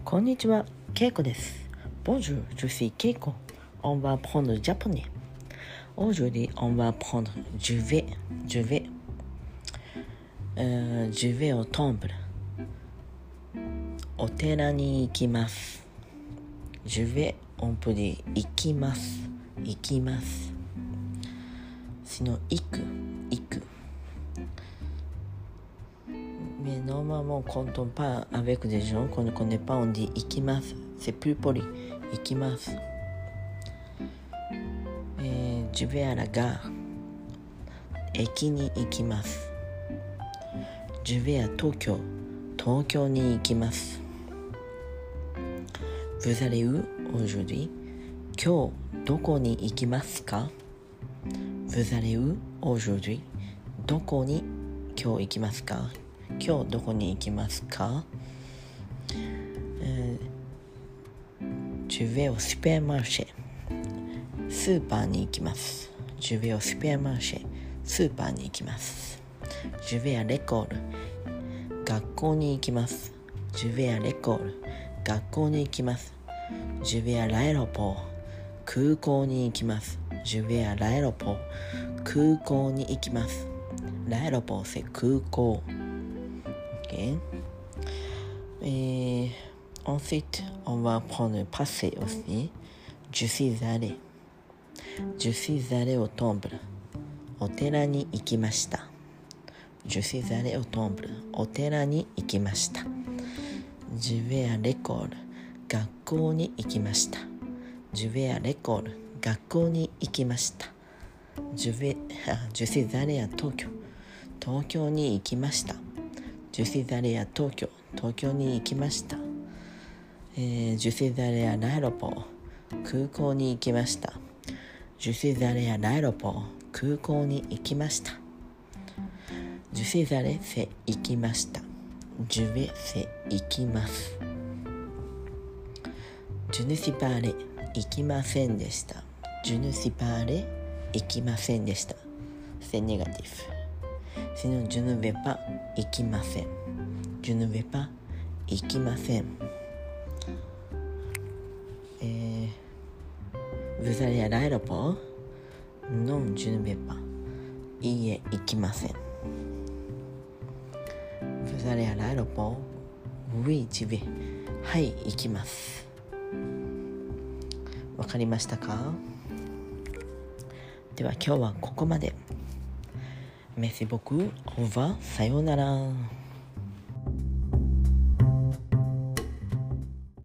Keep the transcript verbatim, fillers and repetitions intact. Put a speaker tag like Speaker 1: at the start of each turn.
Speaker 1: こんにちは、ケイコです。Bonjour, je suis Keiko. On va apprendre le japonais. Aujourd'hui, on va apprendre je vais, je vais. Euh, je vais au temple. お寺に行きます。Je vais, on peut dire 行きます。行きます。Sinon, 行く、行く。Mais normalement, quand on parle avec des gens qu'on ne connaît pas, on dit ikimasu. C'est plus poli. Ikimasu. Et je vais à la gare. Eki ni ikimasu. Je vais à Tokyo. Tokyo ni ikimasu. Vous allez où aujourd'hui? Kyo, doko ni ikimasu ka? Vous allez où aujourd'hui? Doko ni kyo ikimasu ka?今日どこに行きますか、えー、Je vais au supermarché スーパーに行きます。Je vais au supermarché スーパーに行きます。Je vais à l'école 学校に行きます。Je vais à l'école 学校に行きます。Je vais à l'aéroport 空港に行きます。Je vais à l'aéroport 空港に行きます。L'aéroport c'est 空港。Okay. Et ensuite, on va prendre le passé aussi. Je suis allé. Je suis allé au temple. お寺に行きました。Je suis allé au temple. お寺に行きました。Je vais à l'école. 学校に行きました。Je vais à l'école. 学校に行きました。Je vais, je suis allé à Tokyo. 東京に行きました。Je suis allé à Tokyo. 東京に行きました。えー、Je suis allé à l'aéroport. 空港に行きました。Je suis allé à l'aéroport. 空港に行きました。Je suis allé c'est 行きました。Je vais c'est 行きます。Je ne suis pas allé 行きませんでした。Je ne suis pas allé 行きませんでした。C'est négatif. Sinon, je ne vais pas 行きません。Je ne vais pas 行きません。えー、Vous allez à l'aéroport? Non, je ne vais pas. いいえ、行きません。Vous allez à l'aéroport? Oui, j'y vais. はい、行きます。わかりましたか？では今日はここまで。Merci beaucoup. Au revoir. さようなら。